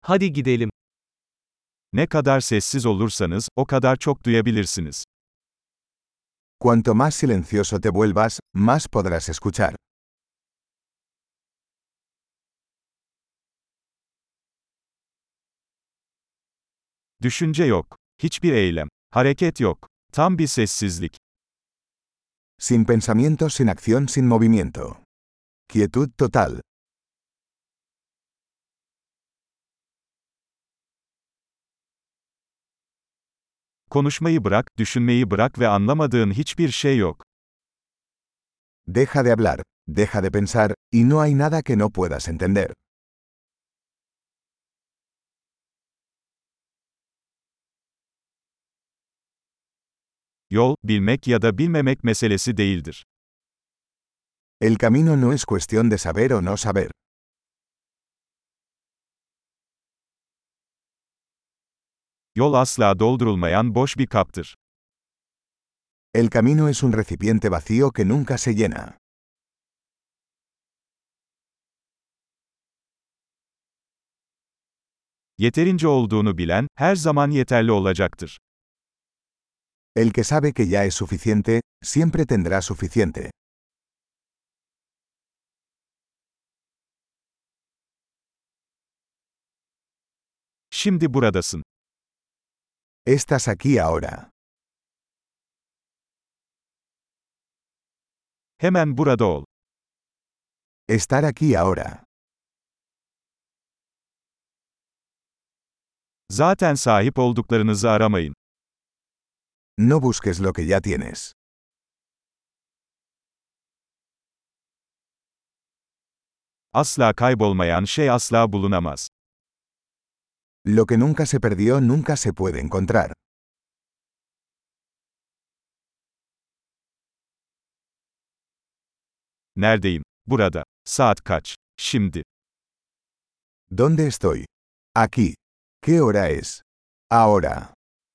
Hadi gidelim. Ne kadar sessiz olursanız, o kadar çok duyabilirsiniz. Cuanto más silencioso te vuelvas, más podrás escuchar. Düşünce yok. Hiçbir eylem. Hareket yok. Tam bir sessizlik. Sin pensamiento, sin acción, sin movimiento. Quietud total. Konuşmayı bırak, düşünmeyi bırak ve anlamadığın hiçbir şey yok. Deja de hablar, deja de pensar, y no hay nada que no puedas entender. Yol, bilmek ya da bilmemek meselesi değildir. El camino no es cuestión de saber o no saber. Yol asla doldurulmayan boş bir kaptır. El camino es un recipiente vacío que nunca se llena. Yeterince olduğunu bilen, her zaman yeterli olacaktır. El que sabe que ya es suficiente, siempre tendrá suficiente. Şimdi buradasın. Estás aquí ahora. Hemen burada ol. Estar aquí ahora. Zaten sahip olduklarınızı aramayın. No busques lo que ya tienes. Asla kaybolmayan şey asla bulunamaz. Lo que nunca se perdió nunca se puede encontrar. Neredeyim? Burada. Saat kaç? Şimdi. ¿Dónde estoy? Aquí. ¿Qué hora es? Ahora.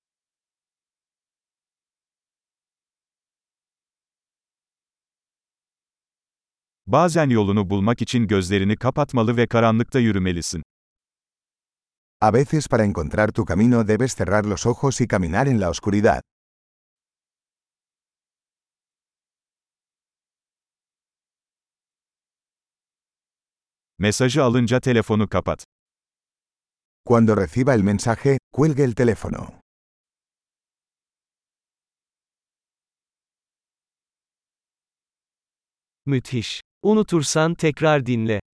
Bazen yolunu bulmak için gözlerini kapatmalı ve karanlıkta yürümelisin. A veces para encontrar tu camino debes cerrar los ojos y caminar en la oscuridad. Mesajı alınca telefonu kapat. Cuando reciba el mensaje, cuelgue el teléfono. Müthiş. Unutursan tekrar dinle.